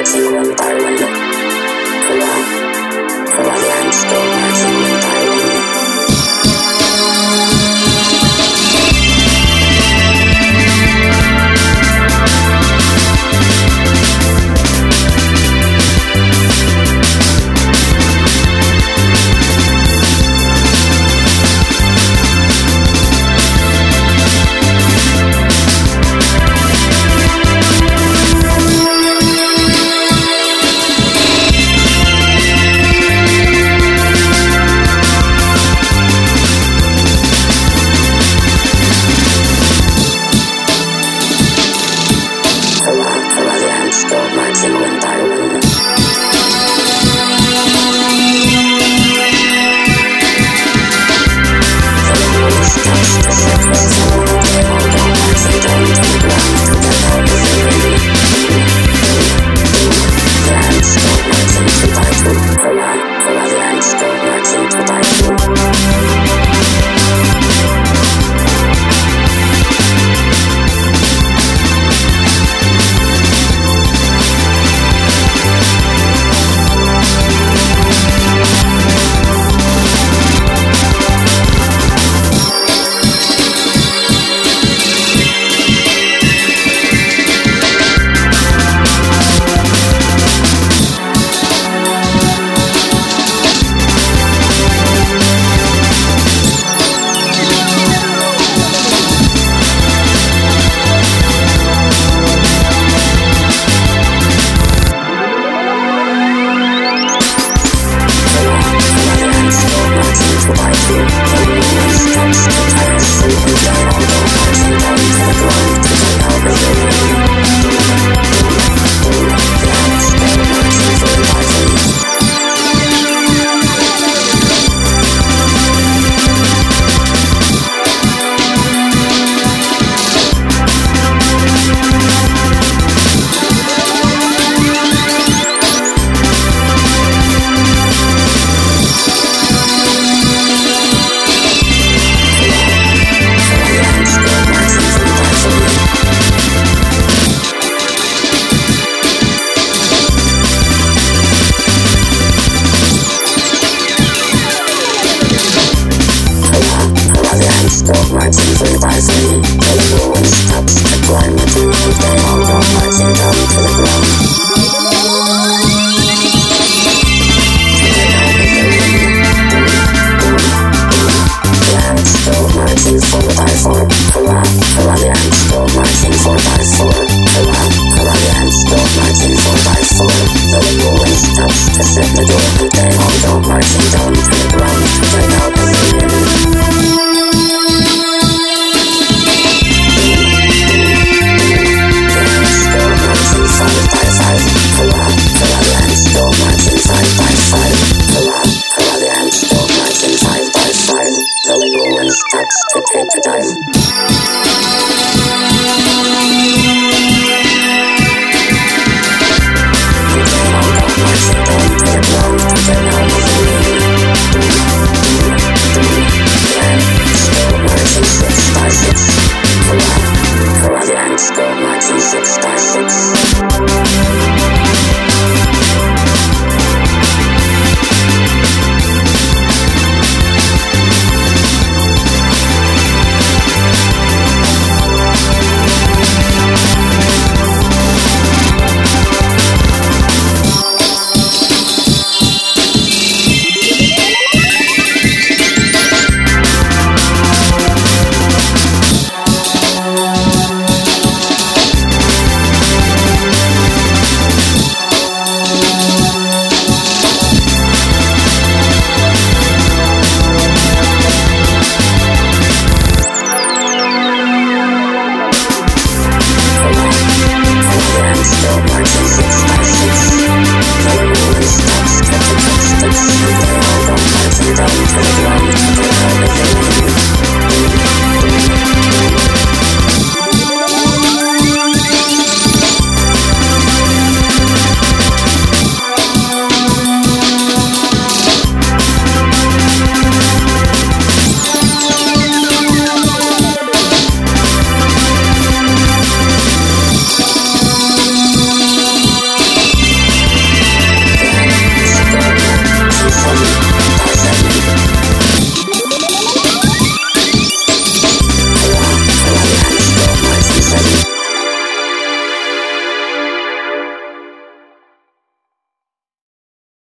marching one by one. Korean still marching one by one. Still marching one by one. The rules touch the surface of the table, don't marching down to the ground to the help of the wind. The ants still marching two by two. The ants still marching two by two. Still marching three by three, till the ruins touch the ground. They all go marching down to the ground. The ants still marching four by four. The ants still marching four by four. The ants still marching four by four. Till the ruins touch the second door. They all go marching down to the ground. They all go side by side, the ants still marching side by side, the ants still marching side by side, the little one starts to take the time. They all go marching down to the ground, they all go the ants still marching 6 by 6, the ants still marching 6 by 6.